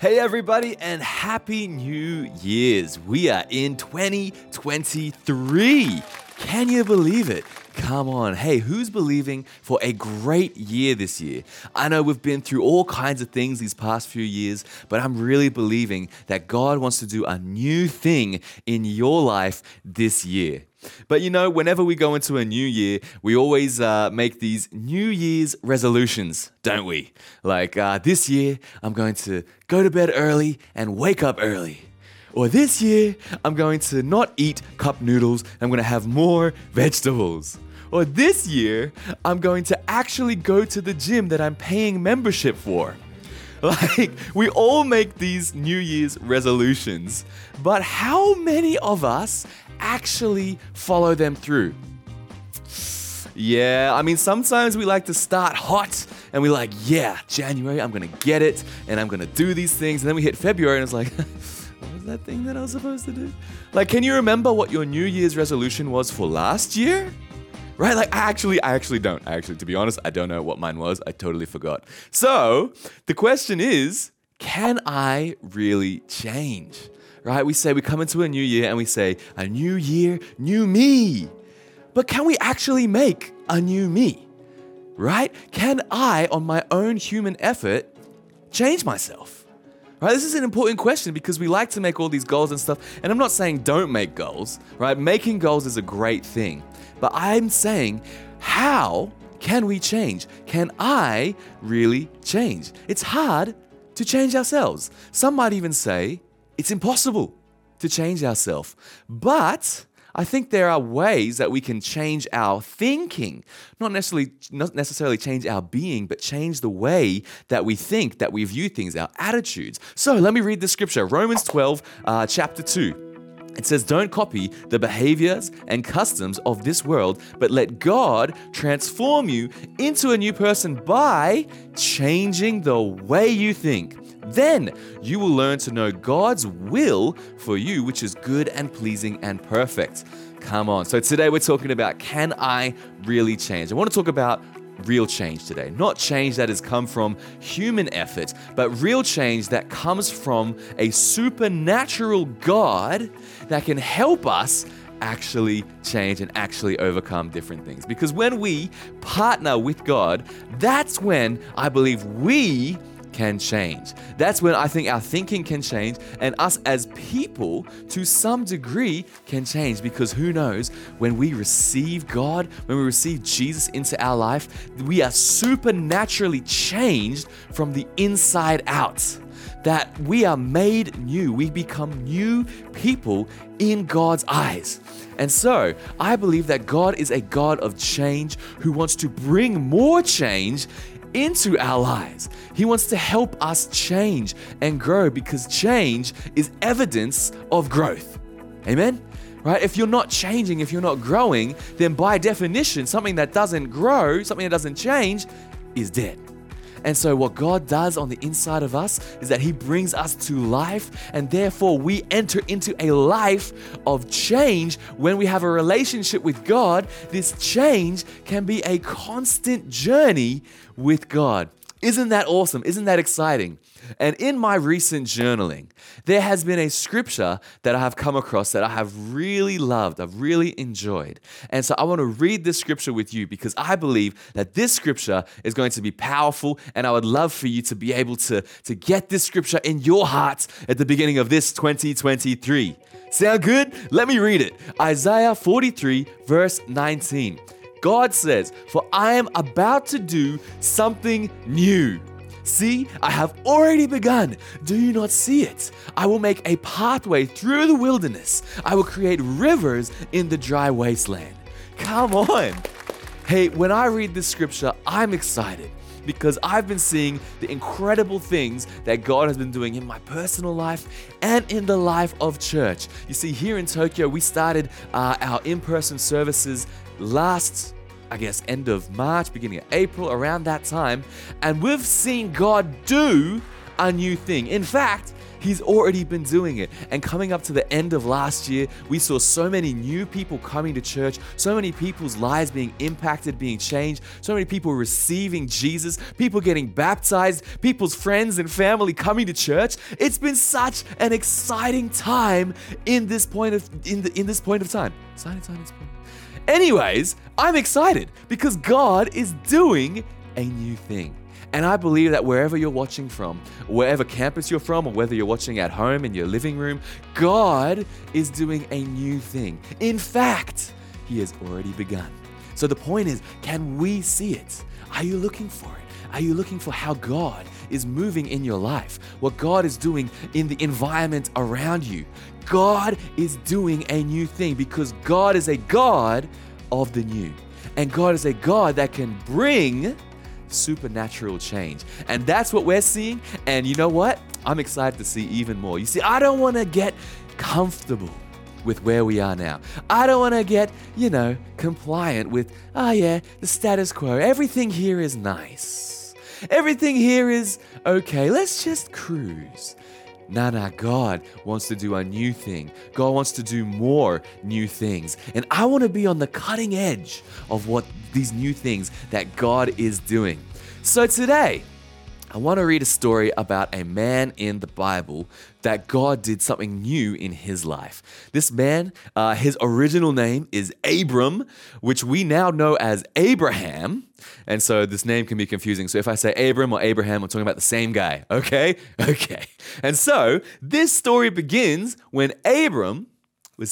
Hey everybody, and Happy New Year's. We are in 2023. Can you believe it? Come on. Hey, who's believing for a great year this year? I know we've been through all kinds of things these past few years, but I'm really believing that God wants to do a new thing in your life this year. But you know, whenever we go into a new year, we always make these New Year's resolutions, don't we? Like this year, I'm going to go to bed early and wake up early. Or this year, I'm going to not eat cup noodles, I'm going to have more vegetables. Or this year, I'm going to actually go to the gym that I'm paying membership for. Like, we all make these New Year's resolutions, but how many of us actually follow them through? Yeah, I mean, sometimes we like to start hot and we're like, yeah, January, I'm going to get it and I'm going to do these things. And then we hit February and it's like, what was that thing that I was supposed to do? Like, can you remember what your New Year's resolution was for last year? Right? Like, I actually don't. To be honest, I don't know what mine was. I totally forgot. So, the question is, can I really change? Right? We come into a new year and we say, a new year, new me. But can we actually make a new me? Right? Can I, on my own human effort, change myself? Right? This is an important question because we like to make all these goals and stuff. And I'm not saying don't make goals, right? Making goals is a great thing. But I'm saying, how can we change? Can I really change? It's hard to change ourselves. Some might even say it's impossible to change ourselves. But I think there are ways that we can change our thinking. Not necessarily change our being, but change the way that we think, that we view things, our attitudes. So let me read the scripture, Romans 12, chapter 2. It says, don't copy the behaviors and customs of this world, but let God transform you into a new person by changing the way you think. Then you will learn to know God's will for you, which is good and pleasing and perfect. Come on. So today we're talking about, can I really change? I want to talk about real change today. Not change that has come from human effort, but real change that comes from a supernatural God that can help us actually change and actually overcome different things. Because when we partner with God, that's when I believe we can change. That's when I think our thinking can change and us as people to some degree can change, because who knows, when we receive God, when we receive Jesus into our life, we are supernaturally changed from the inside out. That we are made new. We become new people in God's eyes. And so, I believe that God is a God of change who wants to bring more change into our lives. He wants to help us change and grow, because change is evidence of growth. Amen? Right? If you're not changing, if you're not growing, then by definition, something that doesn't grow, something that doesn't change, is dead. And so what God does on the inside of us is that He brings us to life, and therefore we enter into a life of change. When we have a relationship with God, this change can be a constant journey with God. Isn't that awesome? Isn't that exciting? And in my recent journaling, there has been a scripture that I have come across that I have really loved, I've really enjoyed. And so I want to read this scripture with you because I believe that this scripture is going to be powerful, and I would love for you to be able to get this scripture in your heart at the beginning of this 2023. Sound good? Let me read it. Isaiah 43, verse 19. God says, "For I am about to do something new. See, I have already begun. Do you not see it? I will make a pathway through the wilderness. I will create rivers in the dry wasteland." Come on. Hey, when I read this scripture, I'm excited because I've been seeing the incredible things that God has been doing in my personal life and in the life of church. You see, here in Tokyo, we started our in-person services last, end of March, beginning of April, around that time. And we've seen God do a new thing. In fact, He's already been doing it. And coming up to the end of last year, we saw so many new people coming to church, so many people's lives being impacted, being changed, so many people receiving Jesus, people getting baptized, people's friends and family coming to church. It's been such an exciting time in this point of time. Exciting time. Anyways, I'm excited because God is doing a new thing. And I believe that wherever you're watching from, wherever campus you're from, or whether you're watching at home in your living room, God is doing a new thing. In fact, He has already begun. So the point is, can we see it? Are you looking for it? Are you looking for how God is moving in your life? What God is doing in the environment around you? God is doing a new thing because God is a God of the new. And God is a God that can bring supernatural change. And that's what we're seeing. And you know what? I'm excited to see even more. You see, I don't want to get comfortable with where we are now. I don't want to get, compliant with, the status quo. Everything here is nice. Everything here is okay. Let's just cruise. Nah, God wants to do a new thing. God wants to do more new things. And I want to be on the cutting edge of what these new things that God is doing. So today, I want to read a story about a man in the Bible that God did something new in his life. This man, his original name is Abram, which we now know as Abraham. And so this name can be confusing. So if I say Abram or Abraham, I'm talking about the same guy. Okay. And so this story begins when Abram was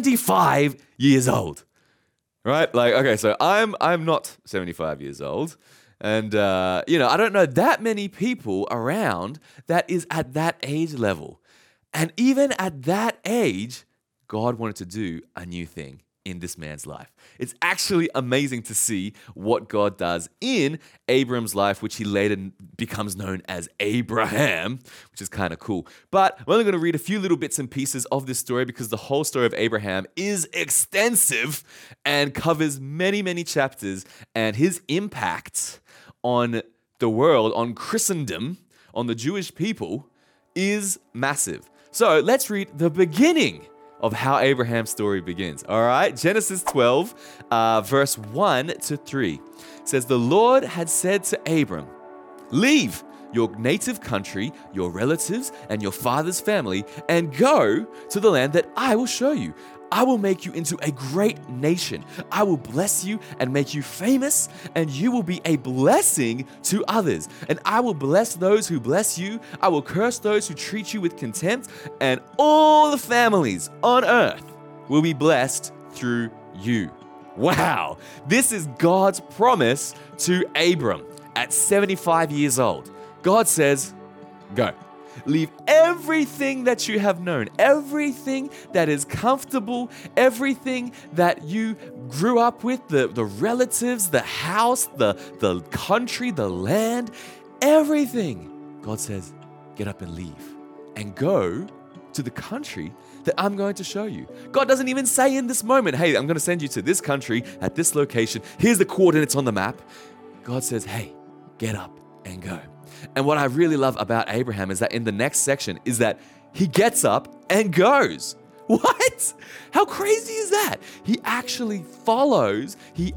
75 years old. Right? So I'm not 75 years old. And, I don't know that many people around that is at that age level. And even at that age, God wanted to do a new thing in this man's life. It's actually amazing to see what God does in Abram's life, which he later becomes known as Abraham, which is kind of cool. But I'm only going to read a few little bits and pieces of this story because the whole story of Abraham is extensive and covers many, many chapters, and his impact on the world, on Christendom, on the Jewish people, is massive. So let's read the beginning of how Abraham's story begins. All right, Genesis 12, verse 1 to 3. It says, "The Lord had said to Abram, 'Leave your native country, your relatives, and your father's family, and go to the land that I will show you. I will make you into a great nation. I will bless you and make you famous, and you will be a blessing to others. And I will bless those who bless you. I will curse those who treat you with contempt, and all the families on earth will be blessed through you.'" Wow, this is God's promise to Abram at 75 years old. God says, go. Leave everything that you have known, everything that is comfortable, everything that you grew up with, the relatives, the house, the country, the land, everything. God says, get up and leave and go to the country that I'm going to show you. God doesn't even say in this moment, hey, I'm going to send you to this country at this location. Here's the coordinates on the map. God says, hey, get up and go. And what I really love about Abraham is that in the next section is that he gets up and goes. What? How crazy is that? He actually follows, he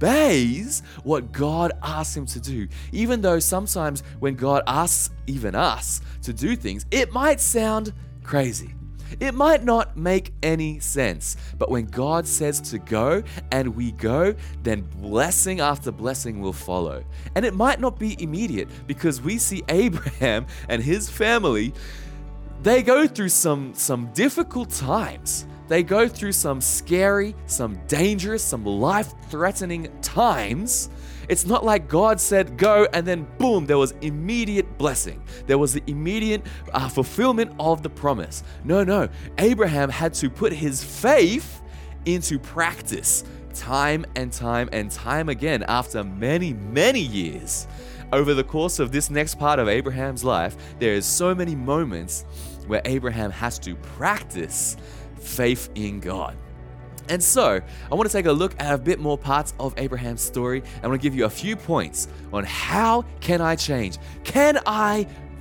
obeys what God asks him to do. Even though sometimes when God asks even us to do things, it might sound crazy. It might not make any sense, but when God says to go and we go, then blessing after blessing will follow. And it might not be immediate because we see Abraham and his family, they go through some difficult times. They go through some scary, some dangerous, some life-threatening times. It's not like God said go and then boom, there was immediate blessing. There was the immediate fulfillment of the promise. No. Abraham had to put his faith into practice time and time and time again after many, many years. Over the course of this next part of Abraham's life, there is so many moments where Abraham has to practice faith in God. And so, I want to take a look at a bit more parts of Abraham's story. I want to give you a few points on how can I change? Can I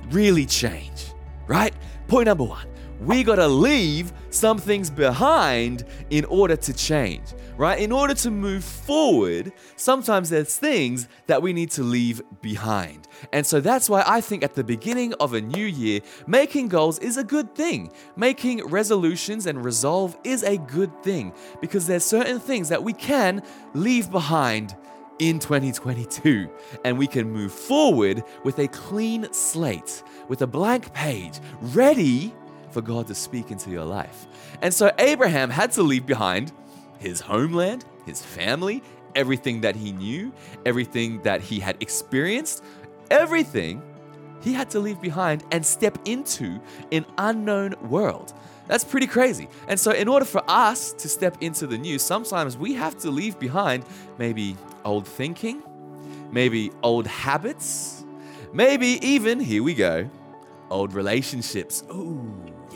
really change, right? Point number one, we got to leave some things behind in order to change, right? In order to move forward, sometimes there's things that we need to leave behind. And so that's why I think at the beginning of a new year, making goals is a good thing. Making resolutions and resolve is a good thing because there's certain things that we can leave behind in 2022, and we can move forward with a clean slate, with a blank page, ready for God to speak into your life. And so Abraham had to leave behind his homeland, his family, everything that he knew, everything that he had experienced, everything he had to leave behind and step into an unknown world. That's pretty crazy. And so in order for us to step into the new, sometimes we have to leave behind maybe old thinking, maybe old habits, maybe even, here we go, old relationships. Ooh,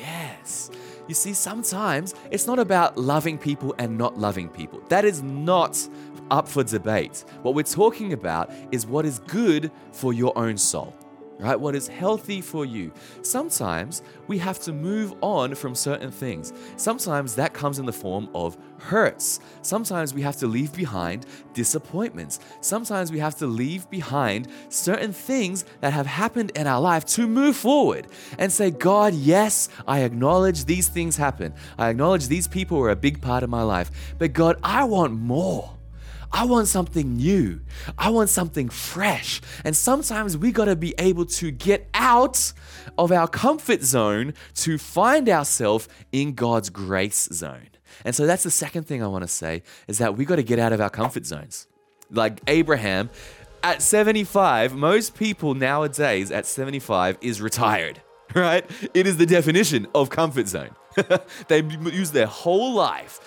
yes. You see, sometimes it's not about loving people and not loving people. That is not up for debate. What we're talking about is what is good for your own soul, right? What is healthy for you. Sometimes we have to move on from certain things. Sometimes that comes in the form of hurts. Sometimes we have to leave behind disappointments. Sometimes we have to leave behind certain things that have happened in our life to move forward and say, God, yes, I acknowledge these things happen. I acknowledge these people were a big part of my life. But God, I want more. I want something new. I want something fresh. And sometimes we got to be able to get out of our comfort zone to find ourselves in God's grace zone. And so that's the second thing I want to say is that we got to get out of our comfort zones. Like Abraham, at 75, most people nowadays at 75 is retired, right? It is the definition of comfort zone. They use their whole life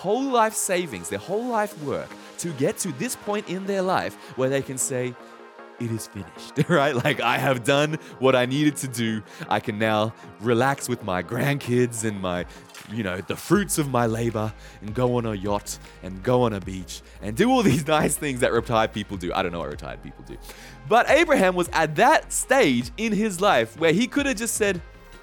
savings, their whole life work to get to this point in their life where they can say, it is finished, right? Like I have done what I needed to do. I can now relax with my grandkids and my, the fruits of my labor and go on a yacht and go on a beach and do all these nice things that retired people do. I don't know what retired people do. But Abraham was at that stage in his life where he could have just said,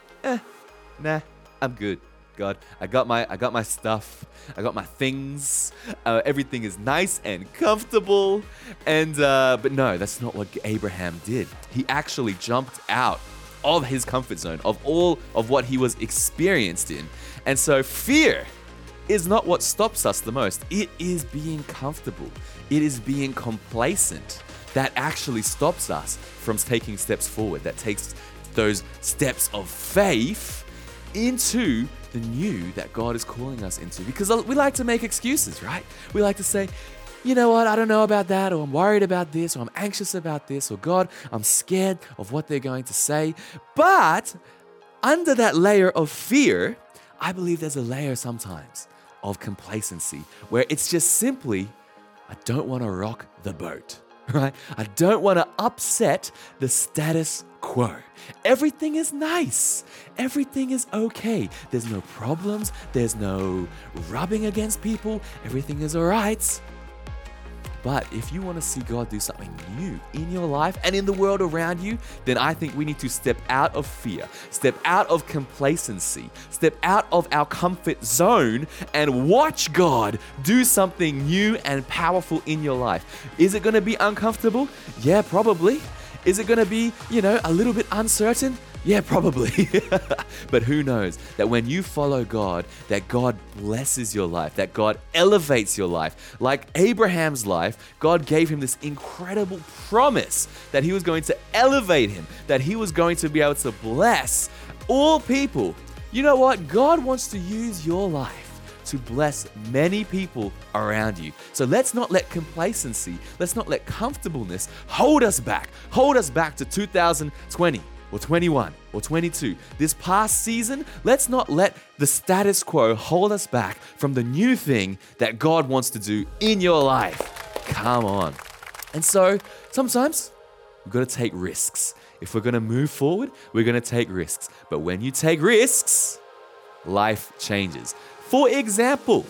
nah, I'm good. God, I got my stuff. I got my things. Everything is nice and comfortable. And but no, that's not what Abraham did. He actually jumped out of his comfort zone, of all of what he was experienced in. And so fear is not what stops us the most. It is being comfortable. It is being complacent that actually stops us from taking steps forward, that takes those steps of faith into the new that God is calling us into. Because we like to make excuses, right? We like to say, you know what, I don't know about that, or I'm worried about this, or I'm anxious about this, or God, I'm scared of what they're going to say. But under that layer of fear, I believe there's a layer sometimes of complacency where it's just simply, I don't want to rock the boat, right? I don't want to upset the status quo. Everything is nice. Everything is okay. There's no problems. There's no rubbing against people. Everything is all right. But if you want to see God do something new in your life and in the world around you, then I think we need to step out of fear, step out of complacency, step out of our comfort zone and watch God do something new and powerful in your life. Is it going to be uncomfortable? Yeah, probably. Is it going to be, a little bit uncertain? Yeah, probably. But who knows that when you follow God, that God blesses your life, that God elevates your life. Like Abraham's life, God gave him this incredible promise that he was going to elevate him, that he was going to be able to bless all people. You know what? God wants to use your life to bless many people around you. So let's not let complacency, let's not let comfortableness hold us back to 2020 or 21 or 22. This past season, let's not let the status quo hold us back from the new thing that God wants to do in your life. Come on. And so sometimes we've got to take risks. If we're going to move forward, we're going to take risks. But when you take risks, life changes. For example,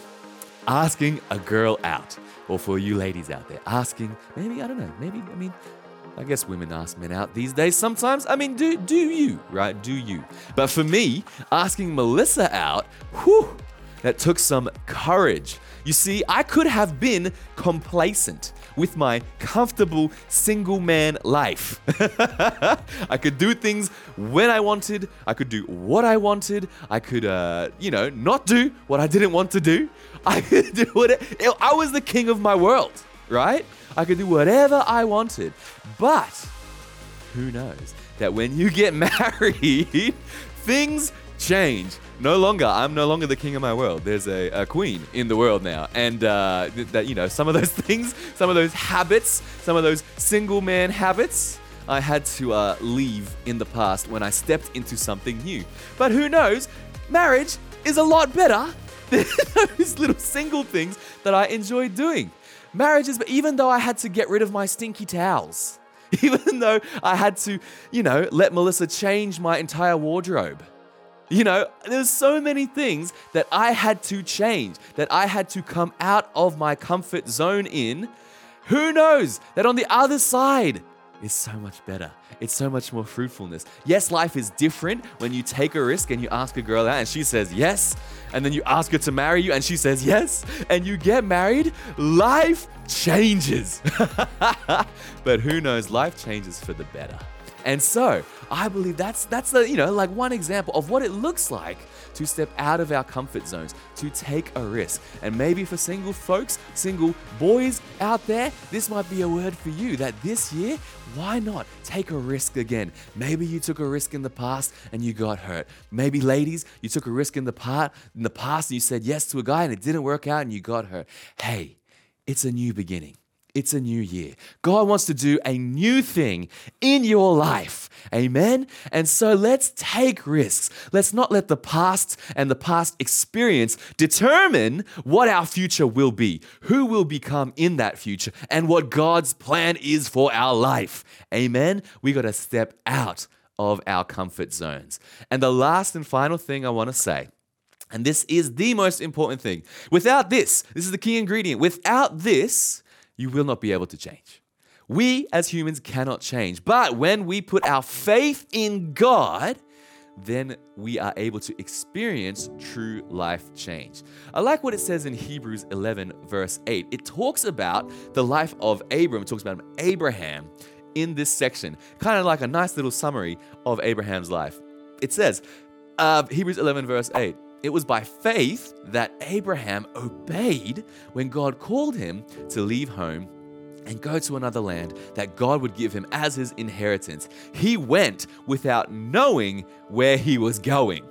asking a girl out, or for you ladies out there, asking, I guess women ask men out these days sometimes. I mean, do you, right? Do you? But for me, asking Melissa out, whew, that took some courage. You see, I could have been complacent with my comfortable single man life. I could do things when I wanted. I could do what I wanted. I could, not do what I didn't want to do. I could do whatever. I was the king of my world, right? I could do whatever I wanted. But who knows that when you get married, things change. I'm no longer the king of my world. There's a queen in the world now. And some of those things, some of those habits, some of those single man habits, I had to leave in the past when I stepped into something new. But who knows? Marriage is a lot better than those little single things that I enjoy doing. Marriage is, even though I had to get rid of my stinky towels, even though I had to, let Melissa change my entire wardrobe. There's so many things that I had to change, that I had to come out of my comfort zone in. Who knows that on the other side is so much better. It's so much more fruitfulness. Yes, life is different when you take a risk and you ask a girl out and she says yes, and then you ask her to marry you and she says yes, and you get married. Life changes. But who knows, life changes for the better. And so I believe that's one example of what it looks like to step out of our comfort zones, to take a risk. And maybe for single folks, single boys out there, this might be a word for you that this year, why not take a risk again? Maybe you took a risk in the past and you got hurt. Maybe ladies, you took a risk in the past and you said yes to a guy and it didn't work out and you got hurt. Hey, it's a new beginning. It's a new year. God wants to do a new thing in your life. Amen? And so let's take risks. Let's not let the past and the past experience determine what our future will be, who will become in that future, and what God's plan is for our life. Amen? We got to step out of our comfort zones. And the last and final thing I want to say, and this is the most important thing, without this is the key ingredient. Without this, you will not be able to change. We as humans cannot change. But when we put our faith in God, then we are able to experience true life change. I like what it says in Hebrews 11 verse 8. It talks about the life of Abram. It talks about Abraham in this section. Kind of like a nice little summary of Abraham's life. It says, Hebrews 11 verse 8. It was by faith that Abraham obeyed when God called him to leave home and go to another land that God would give him as his inheritance. He went without knowing where he was going.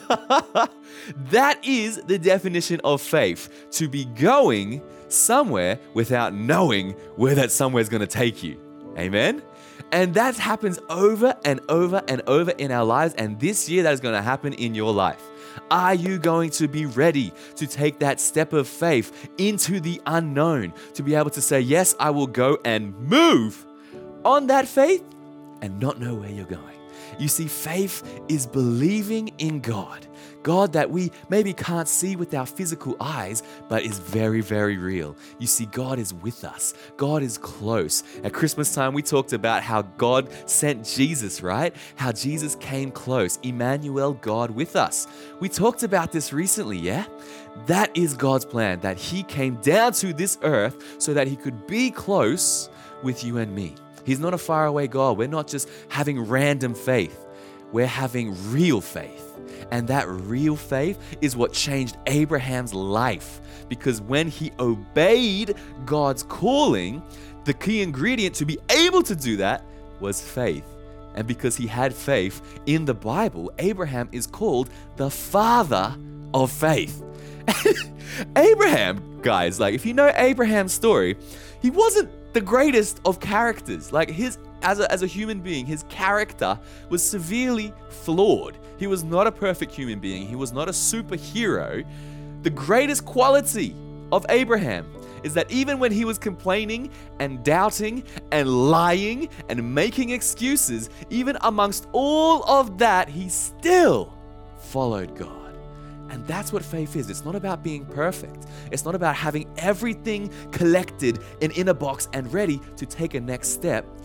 That is the definition of faith, to be going somewhere without knowing where that somewhere is going to take you. Amen? And that happens over and over and over in our lives. And this year that is going to happen in your life. Are you going to be ready to take that step of faith into the unknown, to be able to say, yes, I will go and move on that faith and not know where you're going? You see, faith is believing in God. God that we maybe can't see with our physical eyes, but is very, very real. You see, God is with us. God is close. At Christmas time, we talked about how God sent Jesus, right? How Jesus came close. Emmanuel, God with us. We talked about this recently, yeah? That is God's plan, that He came down to this earth so that He could be close with you and me. He's not a faraway God. We're not just having random faith. We're having real faith. And that real faith is what changed Abraham's life. Because when he obeyed God's calling, the key ingredient to be able to do that was faith. And because he had faith in the Bible, Abraham is called the father of faith. Abraham, guys, if you know Abraham's story, he wasn't the greatest of characters. As a human being, his character was severely flawed. He was not a perfect human being. He was not a superhero. The greatest quality of Abraham is that even when he was complaining and doubting and lying and making excuses, even amongst all of that, he still followed God. And that's what faith is. It's not about being perfect. It's not about having everything collected and in a box and ready to take a next step.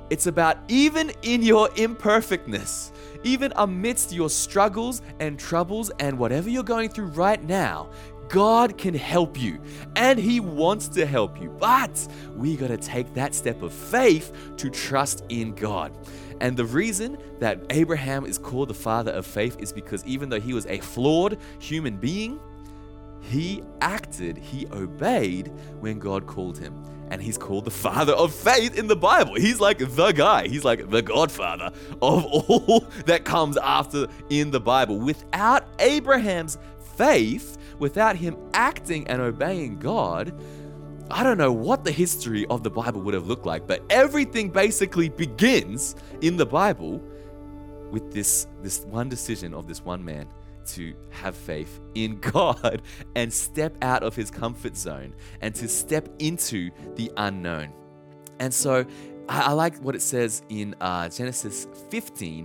It's about even in your imperfectness, even amidst your struggles and troubles and whatever you're going through right now, God can help you and He wants to help you. But we got to take that step of faith to trust in God. And the reason that Abraham is called the father of faith is because even though he was a flawed human being, he acted, he obeyed when God called him. And he's called the father of faith in the Bible. He's like the guy. He's like the godfather of all that comes after in the Bible. Without Abraham's faith, without him acting and obeying God, I don't know what the history of the Bible would have looked like, but everything basically begins in the Bible with this one decision of this one man to have faith in God and step out of his comfort zone and to step into the unknown. And so I like what it says in Genesis 15,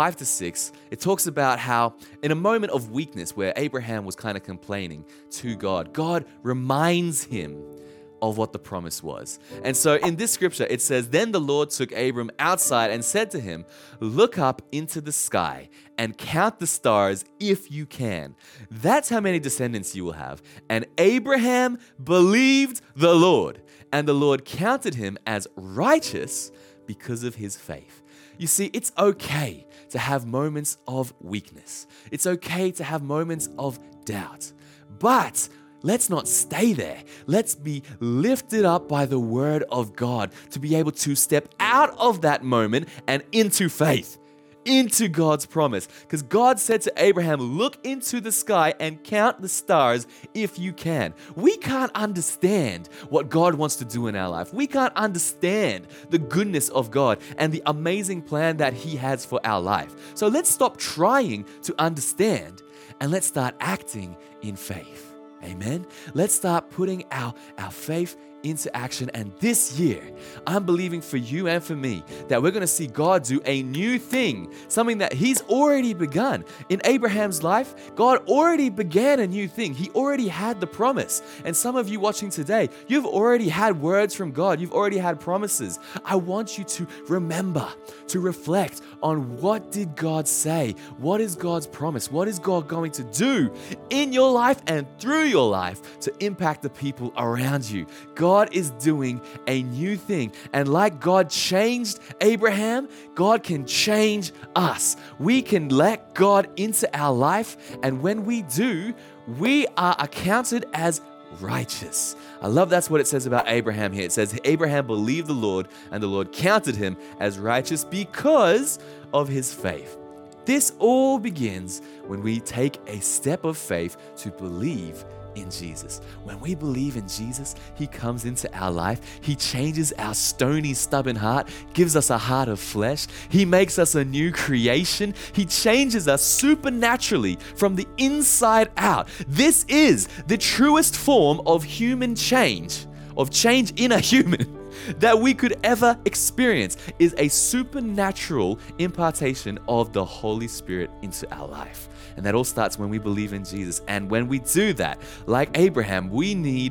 5-6. It talks about how in a moment of weakness where Abraham was kind of complaining to God, God reminds him of what the promise was. And so in this scripture, it says, "Then the Lord took Abram outside and said to him, 'Look up into the sky and count the stars if you can. That's how many descendants you will have.' And Abraham believed the Lord, and the Lord counted him as righteous because of his faith." You see, it's okay to have moments of weakness. It's okay to have moments of doubt. But let's not stay there. Let's be lifted up by the word of God to be able to step out of that moment and into faith, into God's promise. Because God said to Abraham, "Look into the sky and count the stars if you can." We can't understand what God wants to do in our life. We can't understand the goodness of God and the amazing plan that He has for our life. So let's stop trying to understand and let's start acting in faith. Amen. Let's start putting our faith into action. And this year, I'm believing for you and for me that we're going to see God do a new thing, something that He's already begun. In Abraham's life, God already began a new thing. He already had the promise. And some of you watching today, you've already had words from God. You've already had promises. I want you to remember, to reflect on what did God say? What is God's promise? What is God going to do in your life and through your life to impact the people around you? God is doing a new thing. And like God changed Abraham, God can change us. We can let God into our life. And when we do, we are accounted as righteous. I love that's what it says about Abraham here. It says, Abraham believed the Lord and the Lord counted him as righteous because of his faith. This all begins when we take a step of faith to believe in Jesus. When we believe in Jesus, He comes into our life. He changes our stony, stubborn heart, gives us a heart of flesh. He makes us a new creation. He changes us supernaturally from the inside out. This is the truest form of human change, of change in a human that we could ever experience, is a supernatural impartation of the Holy Spirit into our life. And that all starts when we believe in Jesus. And when we do that, like Abraham, we need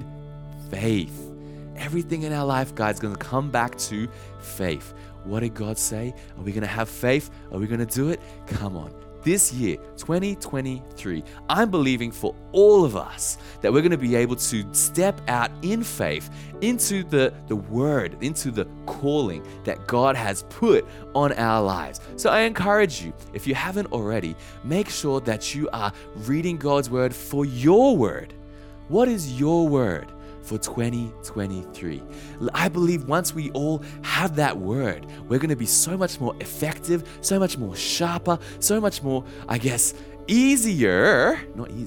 faith. Everything in our life, guys, is going to come back to faith. What did God say? Are we going to have faith? Are we going to do it? Come on. This year, 2023, I'm believing for all of us that we're going to be able to step out in faith into the word, into the calling that God has put on our lives. So I encourage you, if you haven't already, make sure that you are reading God's word for your word. What is your word for 2023? I believe once we all have that word, we're going to be so much more effective, so much more sharper, so much more, easier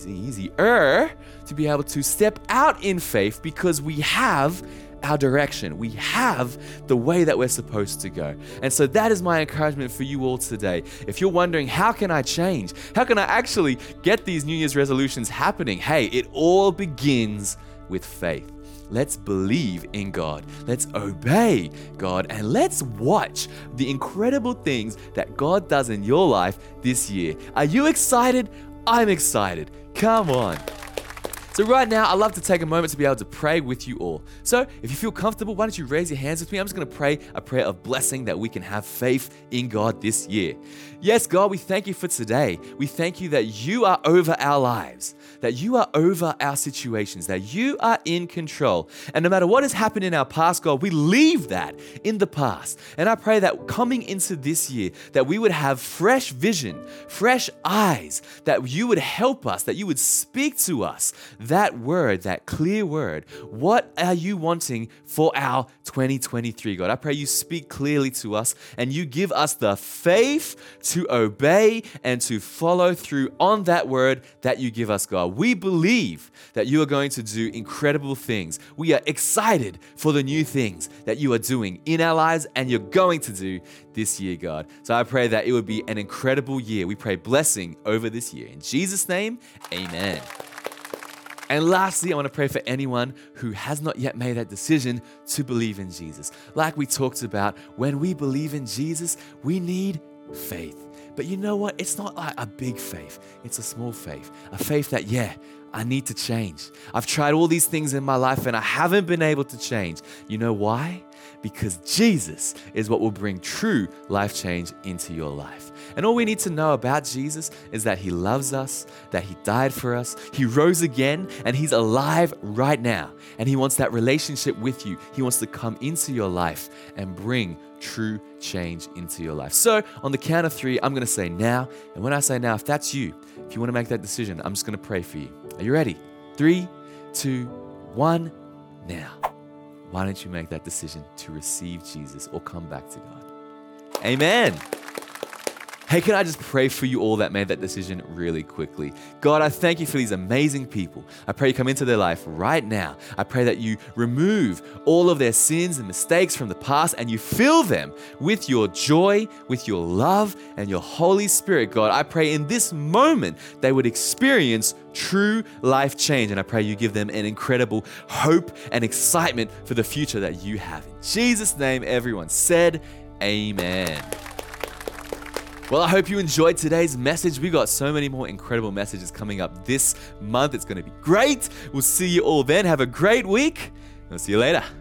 to be able to step out in faith because we have our direction. We have the way that we're supposed to go. And so that is my encouragement for you all today. If you're wondering, how can I change? How can I actually get these New Year's resolutions happening? Hey, it all begins with faith. Let's believe in God. Let's obey God. And let's watch the incredible things that God does in your life this year. Are you excited? I'm excited. Come on. So right now, I'd love to take a moment to be able to pray with you all. So if you feel comfortable, why don't you raise your hands with me? I'm just going to pray a prayer of blessing that we can have faith in God this year. Yes, God, we thank you for today. We thank you that you are over our lives, that you are over our situations, that you are in control. And no matter what has happened in our past, God, we leave that in the past. And I pray that coming into this year, that we would have fresh vision, fresh eyes, that you would help us, that you would speak to us that word, that clear word. What are you wanting for our 2023, God? I pray you speak clearly to us and you give us the faith to obey and to follow through on that word that you give us, God. We believe that you are going to do incredible things. We are excited for the new things that you are doing in our lives and you're going to do this year, God. So I pray that it would be an incredible year. We pray blessing over this year. In Jesus' name, amen. And lastly, I want to pray for anyone who has not yet made that decision to believe in Jesus. Like we talked about, when we believe in Jesus, we need faith. But you know what? It's not like a big faith. It's a small faith. A faith that, I need to change. I've tried all these things in my life and I haven't been able to change. You know why? Because Jesus is what will bring true life change into your life. And all we need to know about Jesus is that he loves us, that he died for us, he rose again, and he's alive right now. And he wants that relationship with you. He wants to come into your life and bring true change into your life. So on the count of 3, I'm going to say now. And when I say now, if that's you, if you want to make that decision, I'm just going to pray for you. Are you ready? 3, 2, 1, now. Why don't you make that decision to receive Jesus or come back to God? Amen. Hey, can I just pray for you all that made that decision really quickly? God, I thank you for these amazing people. I pray you come into their life right now. I pray that you remove all of their sins and mistakes from the past and you fill them with your joy, with your love, and your Holy Spirit, God. I pray in this moment they would experience true life change. And I pray you give them an incredible hope and excitement for the future that you have. In Jesus' name, everyone said, amen. Well, I hope you enjoyed today's message. We got so many more incredible messages coming up this month. It's going to be great. We'll see you all then. Have a great week. We'll see you later.